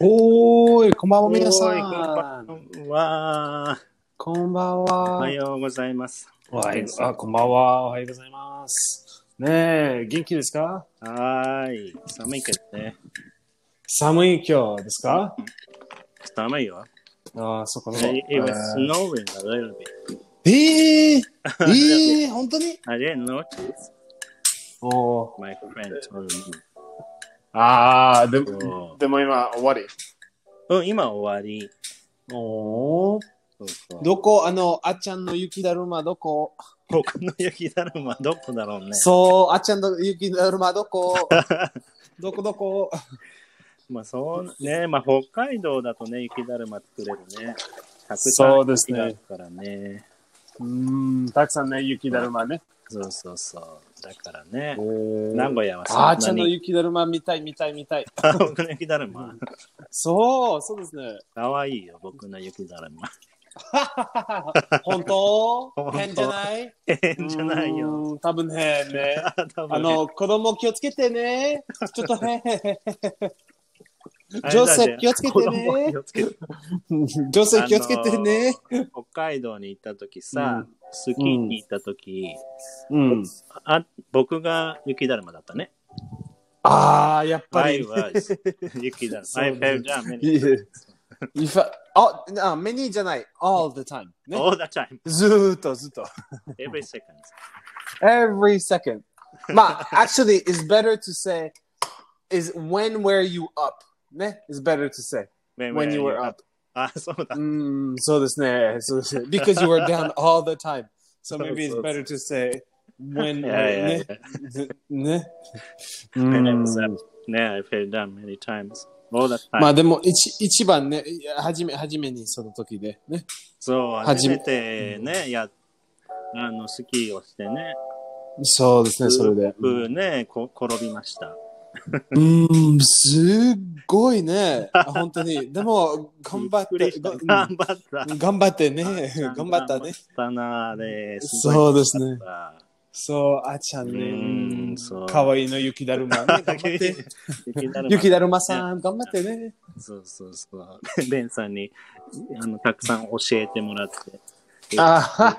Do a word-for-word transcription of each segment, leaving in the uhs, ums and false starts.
おーい、こんばんは、皆さおーい、こんばん。 んは。 こんばんおは。 はようございます。 おはようあ、こんばんは。おはようございます。ねえ、元気ですか？ はーい。寒いけどね。 寒い今日ですか？ 寒いよ。 ああ、そこの。 It it was snowing a little bit. えー、えー、本当に？ I didn't notice. おー。 My friend told me. ああ、でそも、でも今終わり。 う。うん、今終わり。 おー。 そうそう。 どこ、あの、あっちゃんの雪だるまどこ？ 僕の雪だるまどこだろうね。 そう、あっちゃんの雪だるまどこ？どこどこ？ まあそうね、まあ北海道だとね、雪だるま作れるね。たくさんそうですね。 雪があるからね。 うーん、たくさんね、雪だるまね。 そうそうそう。だからね、 えー、 名古屋はそんあなに。 ーちゃんの雪だるま見たい見たい見たい。 僕の雪だるま。 そう、そうですね。 かわいいよ、僕の雪だるま。 本当？ 本当変じゃない？ 変じゃないよ。 うーん、多分変ね。 多分あの、子供気をつけてね。ちょっと変。 あれだ女性気をつけて子供ね気。をつけて女性気をつけてね。 あの北海道に行った時さ、 うんスキーに行った時、 うん。 あ、僕が雪だるまだったね。 ああ、やっぱ I り。 was 雪だるま。 そう I ね fell down many Yeah. times. If I- あ、あ、many じゃない。all the time。ね。 All the time. ずーっとずっと。 Every second. Every second. まあ、actually, it's better to say is when were you up? ね。It's better to say When, when you were you up. あ、そうだ。 うーん、そうですね。そうですね。Because you were down all the time. So そう maybe そう it's better to say when いやいやいねや。。 ね。う When I ん was up. ね、I fell down many times. All the time. まあでも一一番ね、はじめ、はじめにその時でね。 そう、 はじめ初めてね、や、あの、スキーをしてね、 そうですね、それで。 ふね、こ転びました。 うーん、すっごいね。本当に。でも、頑張って、 頑張った。 頑張ってね。頑張ったね。 頑張ったな、あれ。 そうですね。 あそう、あちゃんね。 うんそうかわいいの雪だるまね。頑張って。 雪だるま雪だるまさん、頑張ってね。 そうそうそう。ベンさんにあのたくさん教えてもらって。 あ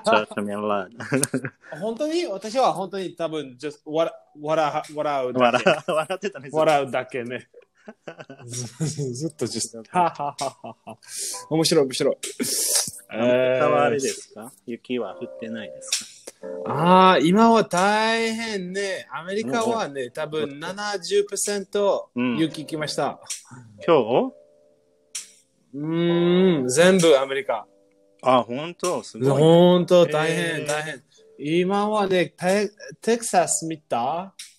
本当に私は本当に多分、just 笑笑笑うだけ。 笑笑ってたね。 笑うだけね。ずっと just はははは。面白い面白い。 アメリカはあれですか？雪は降ってないですか？ ああ、今は大変ね。アメリカはね、多分 ななじゅっパーセント 雪来ました。 今日？ うーん、全部アメリカ。 あ、本当すごい。 本当大変、大変。今はね、テテキサス見た？ うん。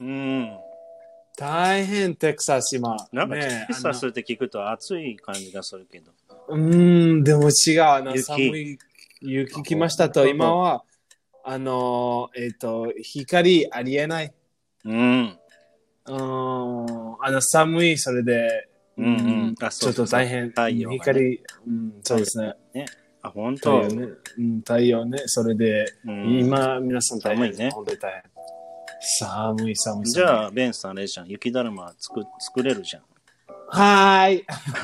大変、テキサス今。 なんかね、 テキサスって聞くと暑い感じがするけど。 うーん、でも違うな。 雪寒い雪来ましたと、今は、あの、えっ、と、光ありえない。 うん。 うーん、あの、寒い、それで、 うんうん。あ、 ちょっと大変。 太陽がね光、うん、そうですね。 ね。あ、本当太陽ね。うん、太陽ね。それで、 うん今、皆さん大変。 寒いね本当に大変。寒い、寒い、寒い。 じゃあ、ベンさんあれじゃん。雪だるま作作れるじゃん。 はーい。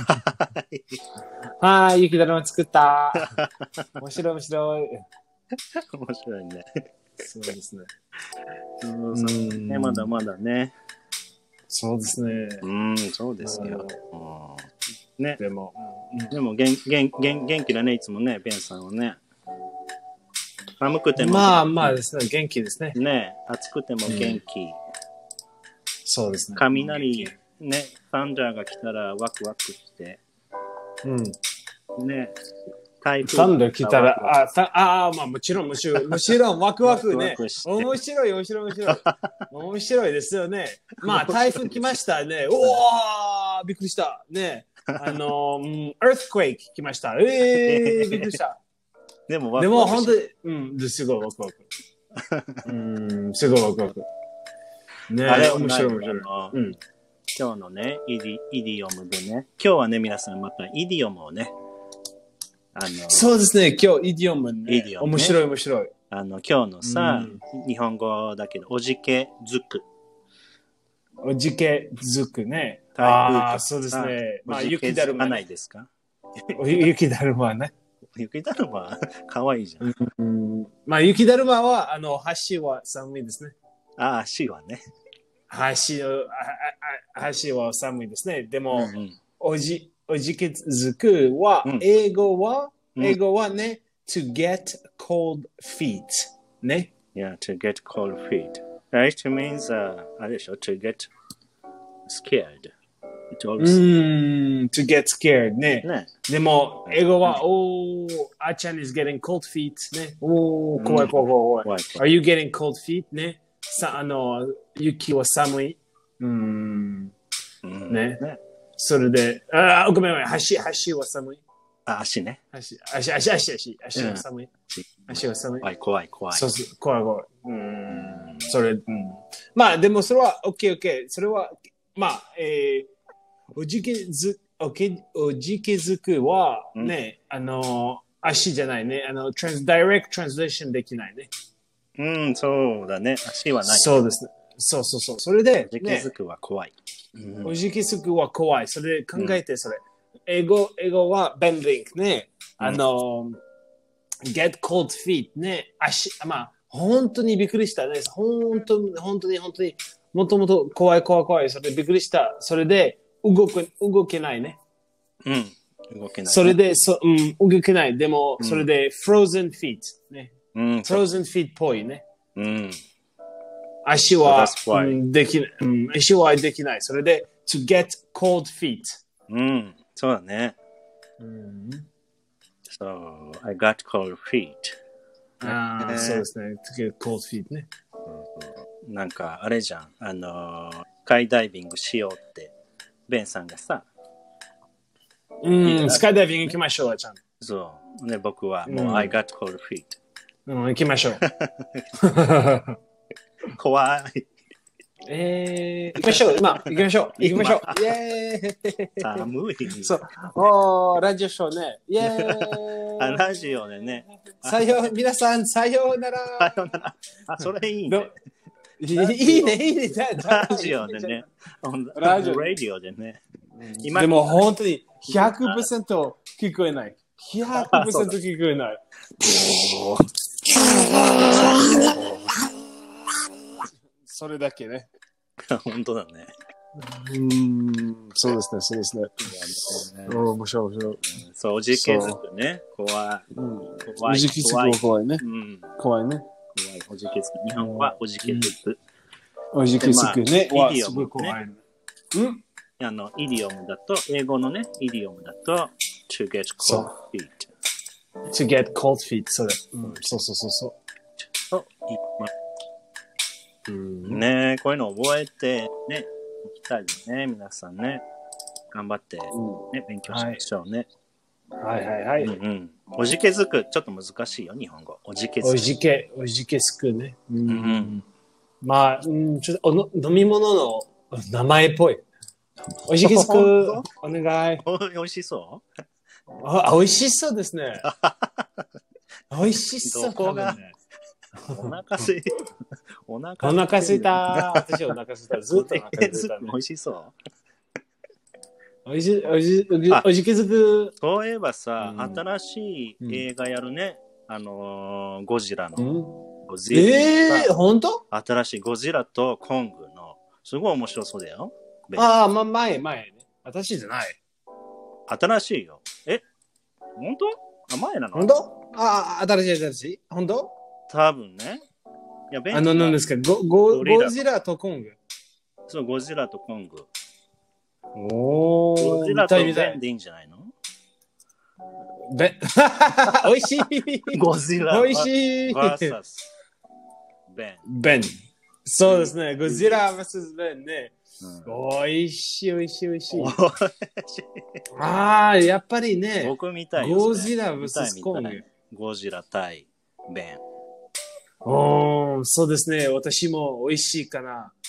はーい、雪だるま作った。面白い、面白い。 面白いね。 そうですね。 そうそうね、まだまだね。 そうですね。 うん、そうですよ。うん、ね。 でも、 でも元元元元気だね、いつもね、ベンさんはね。寒くても。 まあまあですね、元気ですね。 ね、暑くても元気。 そうですね。 雷、ね、サンダーが来たらワクワクして。 うん。 ね。台風サンダー来たら、あ、さあ、まあもちろん、もちろん、もちろん、ワクワクね。 ワクワクして面白い、面白い、面白い。面白いですよね。まあ、台風来ましたね。おー、びっくりした。ね。あの、うん、earthquake 来ました。えー、びっくりした。 でもワでも、 クワク本当に、うん、すごいワクワク。うん、すごいワクワク。ね、 あれ面白い、面白い。 うん。今日のね、イディ、イディオムでね。今日はね、皆さんまたイディオムをね、あの、 そうですね、今日、イディオムね。 イディオムね面白い、面白い。 あの、今日のさ、 うん日本語だけど、おじけづく。 おじけづくね。 台風とかああ、そうですね。まあ、 おじけ雪だるま、 づかないね。 ですか？ 雪だるまね。 雪だるま、かわいいじゃん。 うんまあ、雪だるまは、あの、橋は寒いですね。 ああ、足はね。 橋の、ああ橋は寒いですね。でも、 うんうんおじ、おじけづくは、 うん英語は、 うん英語はね、to get cold feet。ね。 Yeah, to get cold feet. Right? means, uh, あれでしょ to get scared. It う also, ーん、to get scared ね。 ね。 でも、英語は、おー、あちゃん is getting cold feet ね。おー、怖い怖い怖い怖い。 怖い怖 Are you getting cold feet ね。さ、あの、雪は寒い。うーん、 うんね。 ね。 それで、あー、ごめんごめん、橋、橋は寒い。 あ、足ね。 足、足、足、足、足、足は寒い。足は寒い。 怖い怖い怖い。 そうそう、怖い怖い。うーん、それ、うん。まあ、でもそれは、OK、OK。それは、まあ、えー、おじけず、おけ、おじけづくは、ね、あの、足じゃないね。あの、トランス、ダイレクトトランスレーションできないね。 うん、そうだね。足はない。 そうですね。そうそうそう。それで、 おじけづくは怖い。 ね、おじけづくは怖い。それで考えて、それ。英語、英語は bending ね。あの、get cold feet ね。足、まあ、本当にびっくりしたね。本当に、本当に、本当に、もともと怖い怖い怖い。それでびっくりした。それで、動く、動けないね。 うん。動けない、ね。 それで、そ、うん、動けない。でも、それで、frozen feet ね。 うん。 frozen feet っぽいね。 うん。 足は、 So うん、できない、うん。足はできない。それで、to get cold feet。 うん。そうだね。 うん、 So, I got cold feet. ああ、そうですね。to get cold feet ね。 なんか、あれじゃん。あのー、スカイダイビングしようって、ベンさんがさ。 うん、スカイダイビング行きましょう、あちゃん。 そう。ね、僕はもう、うん、I got cold feet。 うん、行きましょう。 怖い。 えー、行きましょう。今、行きましょう。行きましょう。イェーイ。 寒い。 そう。おー、ラジオショーね。イェーイ。 あ、ラジオでね。 さよう、皆さん、さようなら。 さようなら。あ、それいいね。 いいね、いいね。 ラジオでね。ラジオ。ラジオでね。 でも本当にひゃくパーセント聞こえない。ひゃくパーセント聞こえない。それだけね。 本当だね。 うん、そうですね、そうですね。うん、面白い、面白い。 そう、おじけづくね。怖い。 おじけづくは怖いね。怖いね。 怖い、おじけづく。日本はおじけづく。 おじけづくね。 はすごい怖い。 うんあの、イディオムだと、英語のね、イディオムだと、to get cold feet。 to get cold feet、それ。うん、そうそうそうそう。 と言います。うん、ねこういうの覚えて、ね、いきたいよね、皆さんね。頑張って、ね、うん、勉強しましょうね。 はい、はいはいはい。 うんうん。おじけづく、ちょっと難しいよ、日本語。おじけづく。 おじけ、おじけづくね。うん。うん、まあ、うん、ちょっとおの飲み物の名前っぽい。おじけづく、お願い。 お、おいしそうあ、おいしそうですね。おいしそう。 どこが、ね、お腹すい、お腹お腹すいた。私お腹すいた。ずっとお腹すいた、ね。 おいしそう。 おいし、おいし、おじけづく。 そういえばさ、うん、新しい映画やるね。うん、あのー、ゴジラの。うん、ゴジラ。 えー、ほんと？ 新しいゴジラとコングの、すごい面白そうだよ。 ああ、ま、前、前ね。私じゃない。 新しいよ。え本当あ、前なの本当ああ、新しい、新しい。本当多分ね。いや、ベンあの、何ですかゴ、ゴ、ゴジラとコング。 そう、ゴジラとコング。 おー。 ゴジラとベンでいいんじゃないのベン、おいしい。 ゴジラ。 おいしい。 バーサス。ベン。 ベン。そうですね。ゴジラ ブイエス ベンね。うん、おいしいおいしいおいしい。ああ、やっぱりね。 僕みたいよ。 ゴジラ ブイエス コング。 ゴジラ対ベン。 おー、そうですね。私も美味しいかな。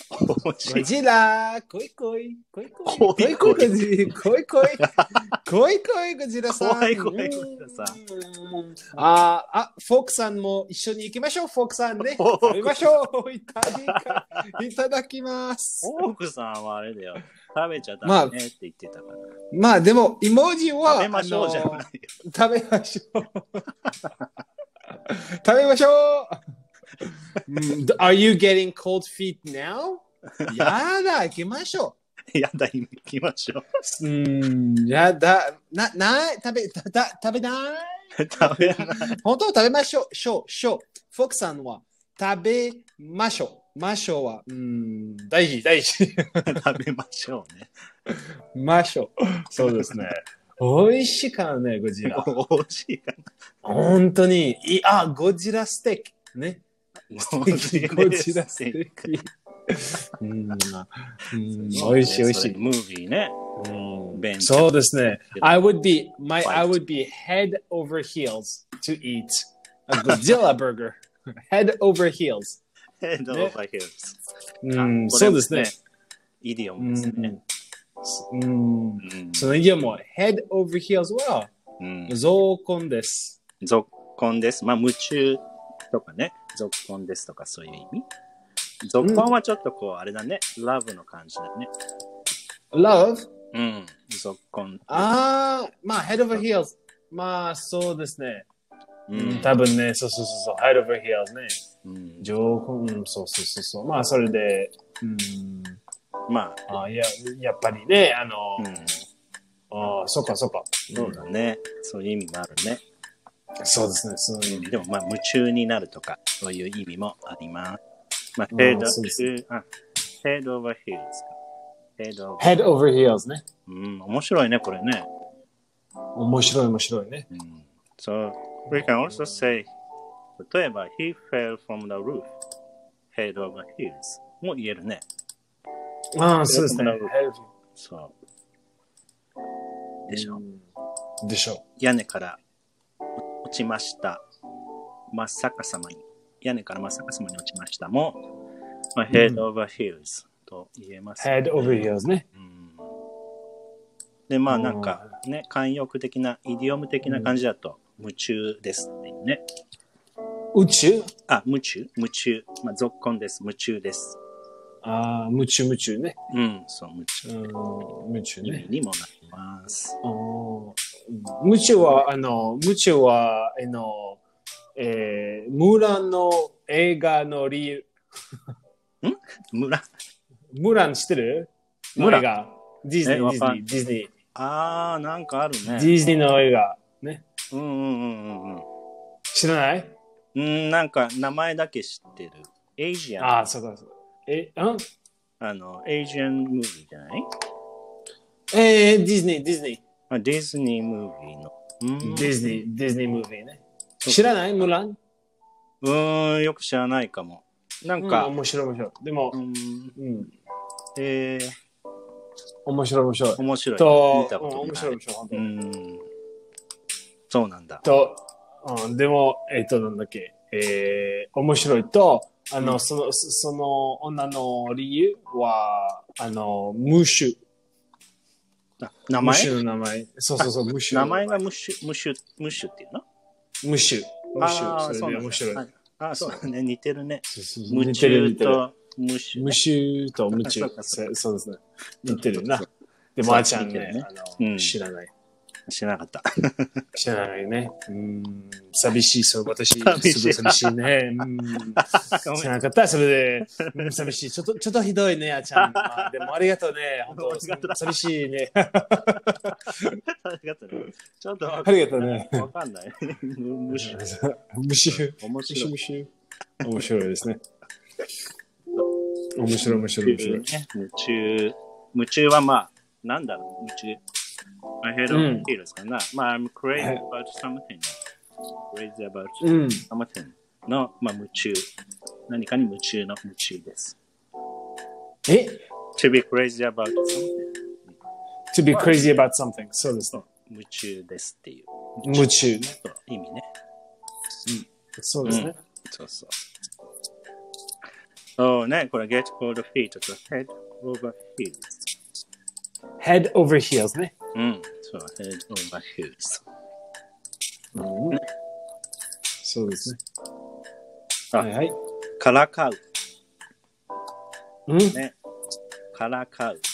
ゴジラ来い来い来い来い来い来い来い来い来い来い来いゴジラさん。 怖い怖いゴジラさん。 ああ、フォークさんも一緒に行きましょう、フォークさんね。食べましょう。いただきいただきます。 フォークさんはあれだよ。食べちゃダメねって言ってたから。 まあでも、イモジは食べましょうじゃないよ。 食べましょう。食べましょう。Are you getting cold feet now? やだ、行きましょう。やだ、行きましょう。うん、やだ、な、ない、食べ、た、た、食べない食べない。 本当食べましょう。しょう、しょう。フォークさんは食べましょう。ましょうは、うん、大事、大事。 食べましょうね。 ましょう。そうですね。美味しいからね、ゴジラ。 美味しいかな。 本当に。いあ、ゴジラステーキ。ね。ゴジラステーキ。うん、うん、美味しい美味しい。 ムービーね。 うん、そうですね。I would be, my, I would be head over heels to eat a Godzilla burger. Head over heels. Head over heels. うん、そうですね。 イディオムですね。 うん、そのイディオムは head over heels は、増根です。 増根です。まあ、夢中とかね、続根ですとかそういう意味。続根はちょっとこう、あれだね、love の感じだね。 love? うん、続根。 ああ、まあ、head over heels。まあ、そうですね。うん、多分ね、そうそうそうそう、head over heels ね。うん、上根、うん、そうそうそうそう。まあ、それで、うん、 まあ、 あいや、やっぱりね、あの、うん、ああ、そっかそっか。 そうだね。そういう意味もあるね。 そうですね、そういう意味。 でも、まあ、夢中になるとか、そういう意味もあります。まあ、head over heels。head over heels ね。 うん、面白いね、これね。 面白い、面白いね。 うん、so, we can also say, 例えば、he fell from the roof, head over heels も言えるね。 ああ、そうですね。 そう。でしょ。 でしょ。 屋根から落ちました。真っ逆さまに。屋根から真っ逆さまに落ちましたも、まあ、head over heels と言えます、 ね。head over heels ね。 うん、で、まあなんかね、慣用句的な、イディオム的な感じだと、夢中ですっていうね。 宇宙あ、夢中夢中。まあ、続根です。夢中です。 ああ、夢中夢中ね。 うん、そう、夢中。 夢中ね。 にもなります。 夢中は、あの、夢中は、あの、えー、ムランの映画の理由。 んムランムラン知ってるムラン映画。ディズニー、ディズニー、ディズニー。 あー、なんかあるね。 ディズニーの映画。ね。 うんうんうんうんうん。 知らないうん、なんか名前だけ知ってる。エイジアン。 ああ、そうかそうか。え、ああの、エイジアンムービーじゃないえー、ディズニー、ディズニー。 あ、ディズニームービーの。 うんディズニー、ディズニームービーね。知らないムランうーん、よく知らないかも。なんか。 うん、面白い面白い。でも、うん。うん、 えー、 面白い面白い。 面白い。 と、 見たことない。 面白い面白い。本当に。うん。 そうなんだ。 と、うん、でも、えっ、ー、と、なんだっけ、えー、面白いと、あの、うん、その、その女の理由は、あの、ムッシュ。 名前？ ムッシュの名前。そうそうそう、ムッシュ。 名前がムッシュ、ムッシュ、ムッシュっていうの？ ムッシュ。ムッシュ。 ああ、 それで面白い。 ああ、そうだね。似てるね。 ムッシュとムッシュ。 ムッシュとムッシュ。そうですね。似てるな。でも、あーちゃんね、あの、知らない。 知らなかった。 知らないね。うん。寂しい、そう、私、すごい寂しいね。うん。知らなかった、それで、うん、寂しい。ちょっと、ちょっとひどいね、あーちゃん。まあ、でもありがとうね。本当寂しいね。 ありがとうね。ちょっと、 ありがとうね。 わかんない。ムシュ。 ムシュ。 面白い。 ムシュ。面白いですね。面白い、面白い、面白い。 夢中。夢中はまあ、なんだろう、夢中。My head over heels かな。まあ、I'm crazy about something. Crazy about something の、まあ、夢中。何かに夢中の夢中です。 え ?To be crazy about something.To be crazy about something. そうですね。 夢中ですっていう。 夢中ね。 意味ね。 そうですね。 そうそう。 そうね、これ get cold feet と head over heels。 head over heels ね。 うん、そう、head over heels。 うんね、そうですね。 あ、 はいはい。 からかう。 うん、 ね。からかう。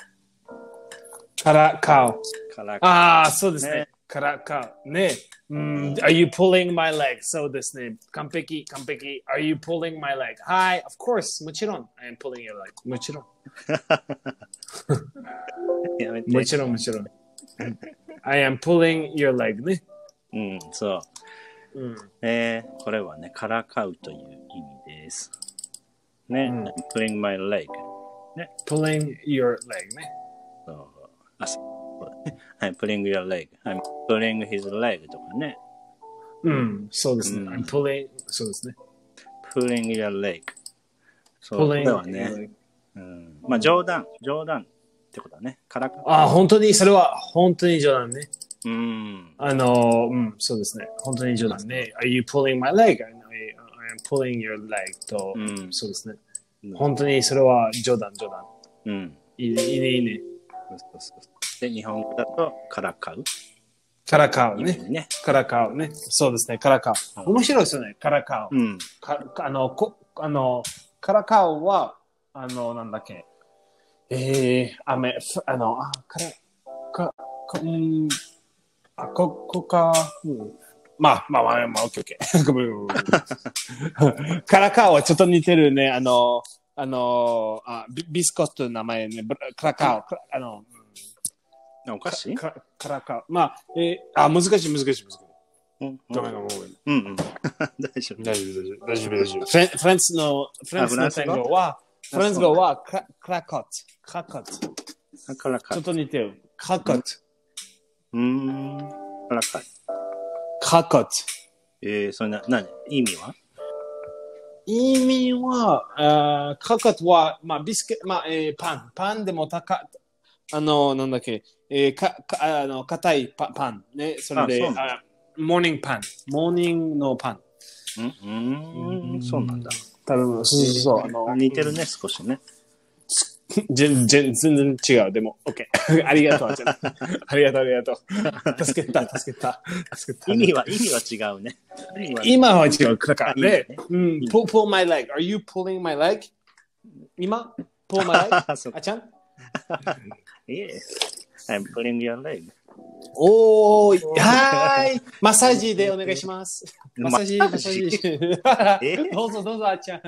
からかう。 からかう。 ああ、そうですね。 ねからかう。ね。うん、Are you pulling my leg? そうですね。完璧、完璧。Are you pulling my leg? はい、of course. もちろん。I am pulling your leg. もちろん。 やめて。 もちろん、もちろん。I am pulling your leg ね。 うん、そう。うん、えー、これはね、からかうという意味です。ね。うん、pulling my leg。ね。 pulling your leg ね。 そう。あ、そう。I'm pulling your leg。I'm pulling his leg とかね。 うん、そうですね。うん、I'm pulling、そうですね。 pulling your leg。そう。pulling はね、うん。まあ、冗談、冗談ってことだね。からかう。 あ、本当に、それは本当に冗談ね。 うん。 あの、うん、そうですね。本当に冗談ね。Are you pulling my leg? I am pulling your leg と、うん、そうですね。本当にそれは冗談、冗談。 うん。 いいね、いいね、いいね。 で、日本語だと、からかう。 からかうね。ねからかうね。そうですね。からかう。面白いですよね。からかう。うん、かあの、こあの、からかうは、あの、なんだっけ。えー、あめ、あの、あ、から、か、か、うん、あ、こ、こか、うん、まあ、まあ、まあ、まあ、オッケーオッケー。ごめんごめんごめん。からかうはちょっと似てるね。あの、あの、あビ、ビスコットの名前ね。からかう。あの、 おかしいかからか。まあ、えー、あ、難しい、難しい、難しい。うん、ごめん、ごめん、ごめん。 うんうん。大丈夫、 大丈夫、大丈夫、大丈夫。フレフランスの、フランスの単語は、フランス語は、クラクラコット。クラコット。 クラコット。 ちょっと似てる。クラコット。 うーん。クラコット。 クラコット。 えー、それな、何意味は意味は、あクラコットは、まあ、ビスケ、まあ、えー、パン。パンでも高、あの、なんだっけ、えー、か、か、あの、硬いパパン。ね、それで、ああモーニングパン。モーニングのパン。 うん、うん、そうなんだ。 多分、そうそうそう。あの似てるね、少しね。 全然、全然違う。でも、OK。ありがとう。ありがとう、ありがとう。助けた、助けた。助けた。 意味は、意味は違うね。 今は違う。だからね。うん。pull, pull my leg. Are you pulling my leg? 今 pull my leg? あちゃん Yes. I'm pulling your leg. おー、はーい。マッサージでお願いします。マッサージ、マッサージ。どうぞどうぞ、あちゃん。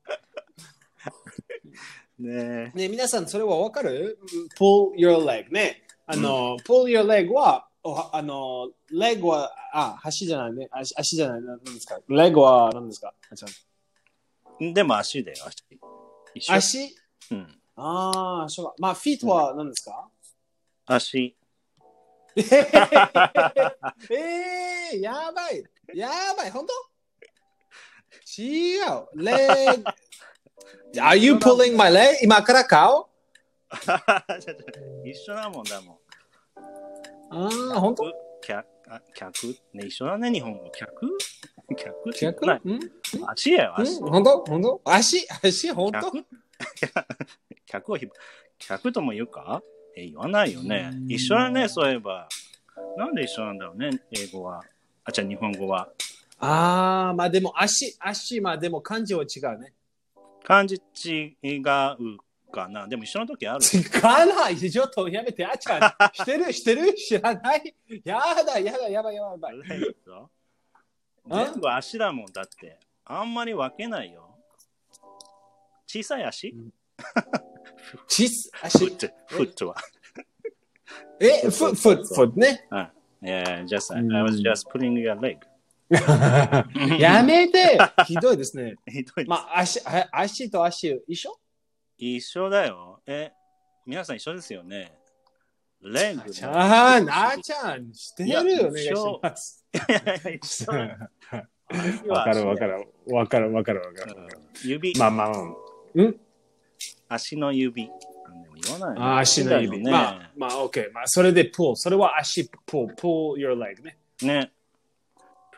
ねえ、皆さん、それはわかる ?pull your leg ね。あの、うん、pull your leg は、あの、leg は、あ、足じゃないね。足足じゃない。何ですか ?leg は何ですかあちゃん。でも足だよ、 足。足うん。ああ、そうか。まあ、feet は何ですか、 うん、足。 えー、えー、やばい。やばい。本当違う。leg。Are you pulling my leg? 今から顔一緒だもんだもん。 ああ、本当客、客ね、一緒だね、日本語。客客客ない。足やよ、足。 本当本当足足本当客をひ、客とも言うかえ、言わないよね。一緒だね、そういえば。なんで一緒なんだろうね、英語は。あ、じゃあ日本語は。 ああ、まあでも足、足、まあでも漢字は違うね。 漢字違うかな。でも一緒の時ある。 違わない。ちょっとやめて。あちゃん。してるしてる知らないやだ、やだ、やばい、やばい、やばい。 全部足だもんだって。あんまり分けないよ。小さい足、うん、 小さい足フット、フットは。 え、フット、フット、フットね。 うん。Yeah, just, I was just pulling your leg. やめてひどいですね。 ひどいです。 まあ、足、足と足一緒一緒だよ。え、皆さん一緒ですよね。レング。 ああ、なあちゃん、してるよ、お願いします。 いやいや、一緒。 わかるわかる。わかるわかるわかる。 指。 まあまあ、うん。 足の指。言わない、ね。 あ、足の指。ね、まあ、まあ、OK。まあ、それで pull。それは足 pull。pull your leg ね。 ね。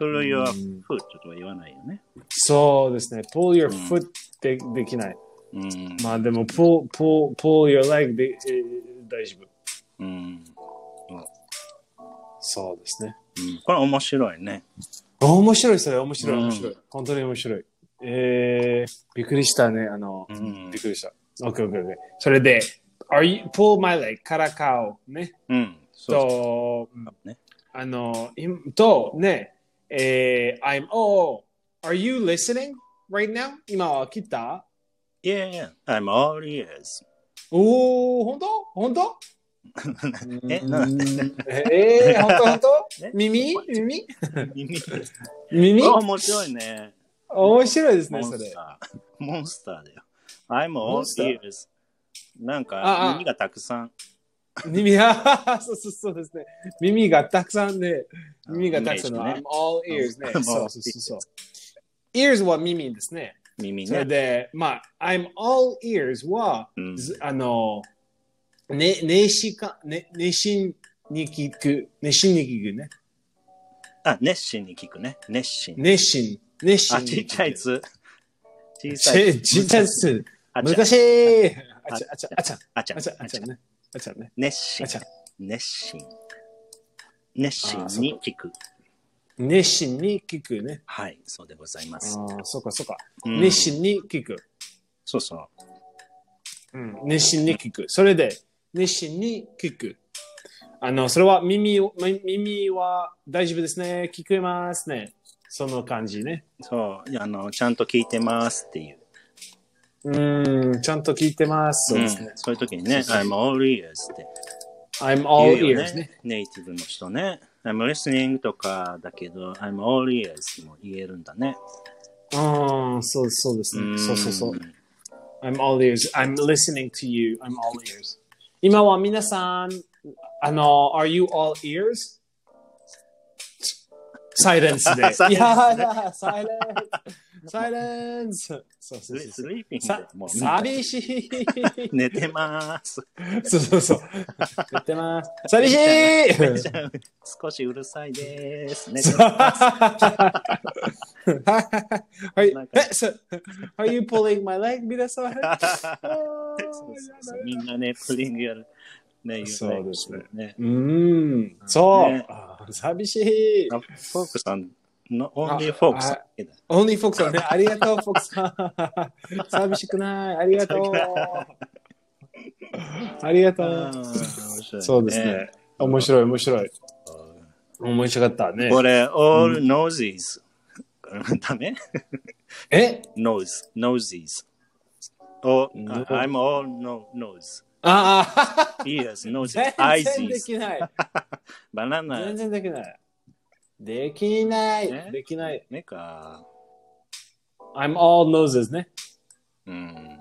pull your foot とは言わないよね。 そうですね。pull your foot で、うん、できない。うん、まあでも pull, pull, pull your leg で、えー、大丈夫。うん、そうですね、 うん。これ面白いね。 面白いそれ面白い面白い、うん。本当に面白い。えー、びっくりしたね。あの、うん、びっくりした。OK, OK, OK. それで、Are you, pull my leg からかおね。うん。そう。と、ね、あの、と、ね、えー、I'm, oh, are you listening right now? 今は来た Yeah, yeah, I'm all ears. おー、本当本当え、なんでえー、本当本当耳耳耳耳面白いね。 面白いですね、それ。 モンスターだよ。I'm all ears. なんか耳がたくさん。 耳が、そうそうそうですね。耳がたくさんで、耳がたくさんの、ね、I'm all ears ね。そうそうそうそう。ears は耳ですね。 耳ね。 それで、まあ、I'm all ears は、うん、あの、ね、熱心か、ね、熱心に聞く、熱心に聞くね。 あ、熱心に聞くね。熱心。 熱心。熱心。 あ、ちっちゃいつ。 小さい。ちっちゃいつ。難しい。あちゃ、あちゃ、あちゃ、あちゃ、あちゃ、あちゃね。あちゃね。 熱心。熱心。熱心に聞く。 熱心に聞くね。 はい、そうでございます。 ああ、そうか、そうか。熱心に聞く。 そうそう。 うん、熱心に聞く。それで、熱心に聞く。あの、それは耳、耳は大丈夫ですね。聞こえますね。その感じね。 そう、あの、ちゃんと聞いてますっていう。 うん、ちゃんと聞いてます。そうですね。 うん、そういう時にね、I'm all ears って。 I'm all ears ね。 ネイティブの人ね。I'm listening とかだけど、I'm all ears も言えるんだね。 ああ、そうそうですね。そうそうそう。I'm all ears. I'm listening to you. I'm all ears. 今は皆さん、あの、Are you all ears? サイレンスで。いやだ、サイレンス。サイレンス。そうそうそう。 スリーピングでもう寂しい。 寝てます。 そうそうそう。寝てます。寂しい。 少しうるさいです。寝てます。 はい。え、そ、Are you pulling my leg? 皆さん。 みんなね、プリングやる。ね、 そうですね。うん。そう。寂しい。 フォークさん、オンリーフォークさん。 オンリーフォークさんね。ありがとう、フォークさん。寂しくない。ありがとう。ありがとう。そうですね。面白い、面白い。面白かったね。 これ、all noses。ダメえ ?nose, noses. Oh, I'm all nose. ああ。Ears, nose, eyes. 全然できない。 バナナ。 全然できない。できない。できない。 ねか。 I'm all noses ね。 うん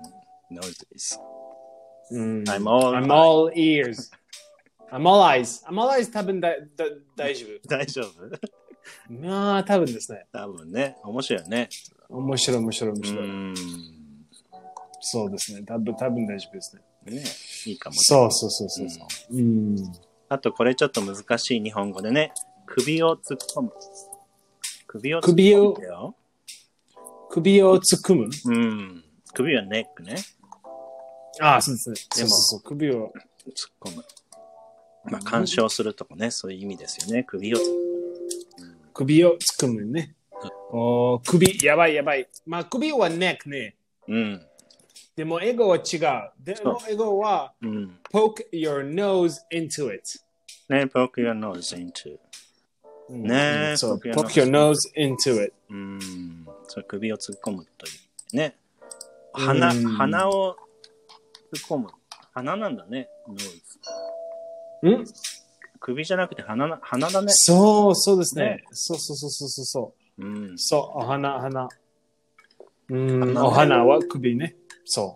。noses. うん。 I'm all, I'm all ears. I'm all eyes. I'm all eyes 多分だだ大丈夫。 大丈夫まあ、多分ですね。 多分ね。面白いね。 面白い、面白い、面白い。うんそうですね。多分、多分大丈夫ですね。 ね、いいかも、ね。 そうそうそうそうそう、うん。 あと、これちょっと難しい日本語でね。首を突っ込む。首を突っ込むよ。 首を突っ込むうん。首はネックね。 ああ、そうですね。でも、そうそうそう首を突っ込む。まあ、干渉するとかね、そういう意味ですよね。首を突っ込む。 首を突っ込むね。うん、お首、やばいやばい。まあ、首はネックね。 うん。 でも、英語は違う。でも、英語は、うん、poke your nose into it。 ね、poke your nose into。 うん、ね、そう、poke your nose into it。 うん。そう、首を突っ込むという。ね。鼻、鼻を突っ込む。鼻なんだね、nose。 ん首じゃなくて鼻な、鼻だね。 そう、そうですね。ねそうそうそうそうそう。うん、そう、お花、花。うん、お花は首ね。そう。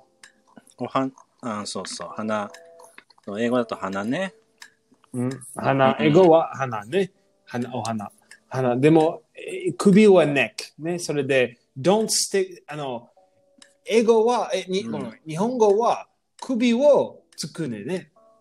おは、あ、そうそう、花。英語だと花ね。 うん、花、英語は花ね。花、お花。花。でも、首はネック。ね。それで、don't stick、あの、英語は、え、に、うん、日本語は首をつくねね。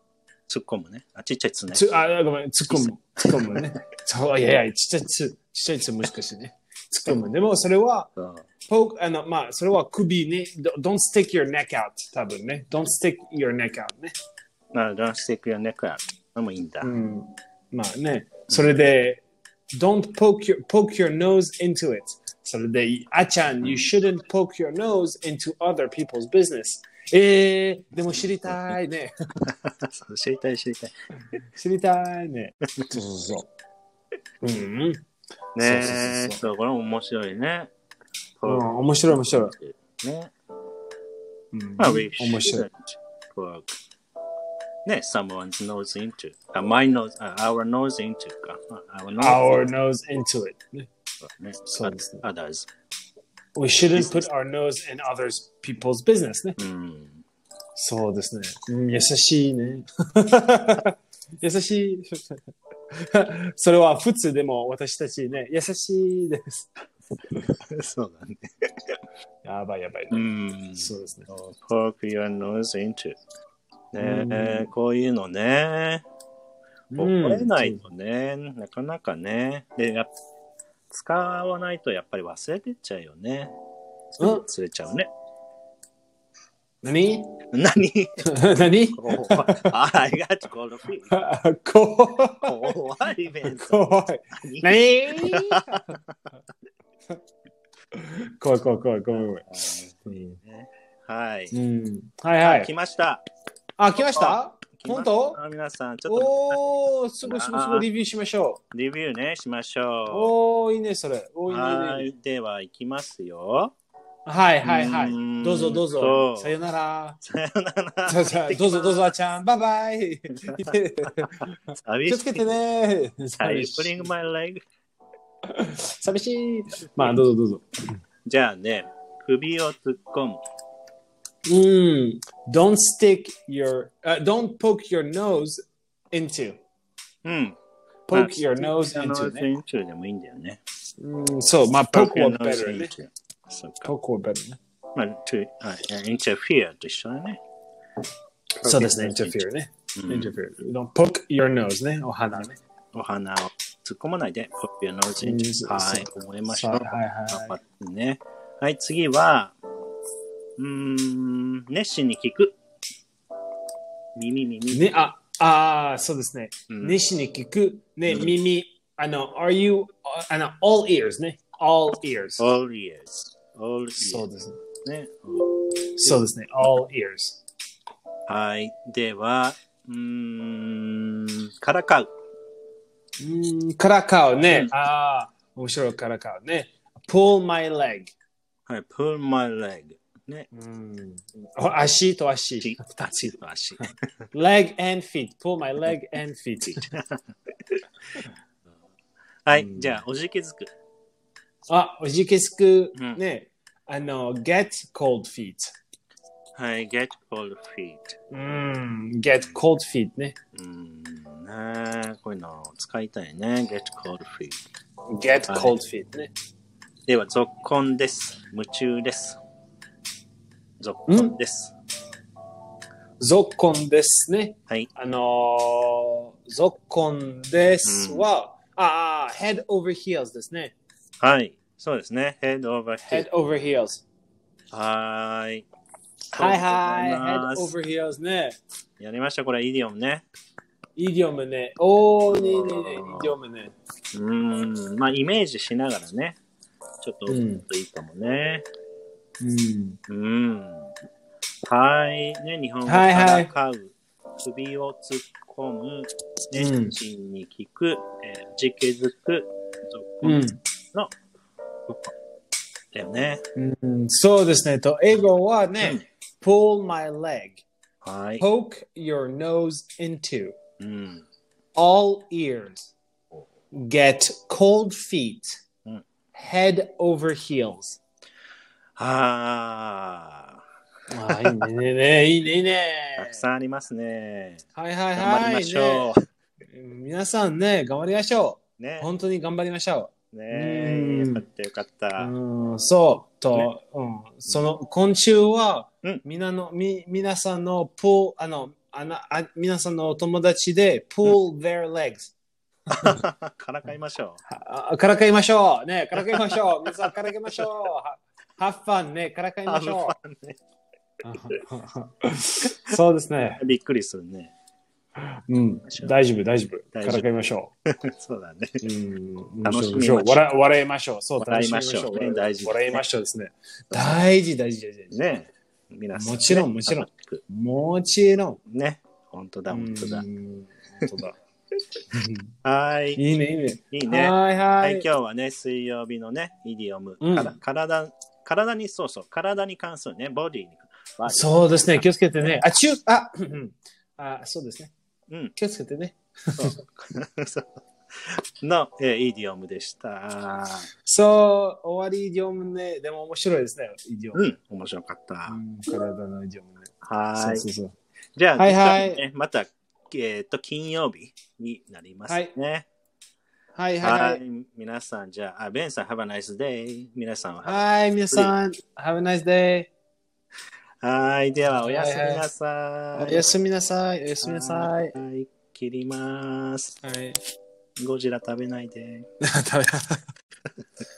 突っ込むね。あ、ちっちゃいつね。 つあ、ごめん、突っ込む。突っ込むね。そう、いやいや、ちっちゃいつ、ちっちゃいつ難しいね。突っ込む。でも、それは、ポーあの、まあ、それは首ね。Don't stick your neck out. 多分ね。Don't stick your neck out ね。 まあ、Don't stick your neck out. でもいいんだ。 うん。まあね。それで、Don't poke your, poke your nose into it. それで、あちゃん、You shouldn't poke your nose into other people's business. えー、でも知りたいね。 そう知りたい、知りたい。 知りたいね。そうそうそう。うん。 ねえ、そう、これも面白いね。 うん、面白い、面白い。ね。 うん、 まあ、we 面白い。 poke ね、someone's nose into. あ、my nose, あ、our nose into か。 our nose, our nose into it. ね。 そうですね。others. We shouldn't put our nose in other people's business ね。 うん。 そうですね。うん、優しいね。優しい。それは普通でも私たちね、優しいです。 そうだね。 やばいやばい、ね。 うん。 そうですね。 Poke your nose into. ねえ、こういうのね。覚えないとね、うん、なかなかね。で、や使わないとやっぱり忘れてっちゃうよね。うん、忘れちゃうね。 何何何あ、I got cold feet. 怖い。怖い。何怖い怖い怖い怖い怖い。 はい。 うん、はいはい。 来ました。 あ、来ました本当皆さん、ちょっと。 おー、すごいすごいすごい、リビューしましょう。リビューね、しましょう。 おー、いいね、それ。おー、いいね。 はい、では、いきますよ。 はいはいはい。どうぞどうぞ。さよなら。 さよなら。 どうぞどうぞ、あちゃん。バイバイ。気をつけてね。 寂しい。my leg. 寂しい。まあ、どうぞどうぞ。 じゃあね、首を突っ込む。 うん。Don't stick your,、uh, don't poke your nose into. うん。 poke your nose into ね。 into でもいいんだよね。 うん、そう、まあ、pokeは better ね。 そうか。 pokeは better ね。 まあ、to, interfere と一緒だね。 そうですね、interfere ね。interfere. Don't poke your nose ね、お花ね。 お花を突っ込まないで、poke your nose into. はい、覚えましょう。 はいはい。 ね。はい、次は、うーん、熱心に聞く。耳、耳。 ね、あ、あ、そうですね。熱心に聞く。ね、耳。あの、are you, あの、all ears ね。all ears. all ears. all ears. そうですね。 そうですね。all ears. はい。では、うーん、からかう。 うん、からかうね。ああ、面白いからかうね。pull my leg. はい、pull my leg. ね。 うん。足と足。 足と足。 leg and feet. pull my leg and feet. はい、じゃあ、おじけづく。 あ、おじけづく。ね。あの、get cold feet. はい、get cold feet. うん、get cold feet ね。 うん、ねこういうの使いたいね。get cold feet. get cold feet ね。 では、続婚です。夢中です。続婚です。 続婚ですね。 はい。 あのー、続婚ですは、うん、ああ、head over heels ですね。 はい。そうですね。head over heels. head over heels. はーい。 はいはい。head over heels ね。 やりました。これ、イディオムね。 イディオムね。おー、ねえねえねえ、イディオムね。 うーん。まあ、イメージしながらね。ちょっと、うん、いいかもね。 うん。 うん。はい。ね、日本語からかう、はいはい、首を突っ込む、熱心に聞く、うん、えー、じけづく、続婚の、だよね、 うん。そうですね。と、英語はね、うん、pull my leg. はい。 poke your nose into. うん、 all ears. get cold feet. うん、 head over heels. ああ、いいね、いいね、いいね。 たくさんありますね。 はいはいはい。 頑張りましょう。 ね、皆さんね、頑張りましょう。 ね。 本当に頑張りましょう。ねえ、よかったよかった。 うん、そう。と、ね、うん、その、今週は、 うん、 みなの、み、皆さんのポー、あの、 あなあ皆さんのお友達で pull their legs。 からかいましょう。からかいましょう。ね、からかいましょう。皆さんからかいましょう。have fun ね、からかいましょう。ね、そうですね。 びっくりするね。 うん、大丈夫、大丈夫。からかいましょう。 そうだね。 うん、楽しみましょう。笑笑いましょう。そう、 笑いましょう。 大事。笑いましょうですね。大事、大事、大事。 ね。皆さん。 もちろん、もちろん。もちろん。 ね。本当だ、本当だ。 本当だ。 はい。 いいね、いいね。 いいね。 はい、はい。 今日はね、水曜日のね、イディオム。体、体に、そうそう、体に関するね、ボディに。 そうですね、気をつけてね。あ、中、あ、あ、そうですね。うん、気をつけてね。 の、えー、イディオムでした。 そう、終わりイディオムね。でも面白いですね、イディオム。 うん、面白かった。 うん、体のイディオムね。 はい。 そうそうそう。 じゃあ、 はいはい、 ね、また、えっと、金曜日になりますね。 はい、はい、はい。はい、 皆さん、じゃあ、ベンさん、have a nice day。皆さんは。 はい、皆さん、have a nice day。 はい、では、おやすみなさい。 おやすみなさい。おやすみなさい。 はい、切ります。はい。ゴジラ食べないで。 食べ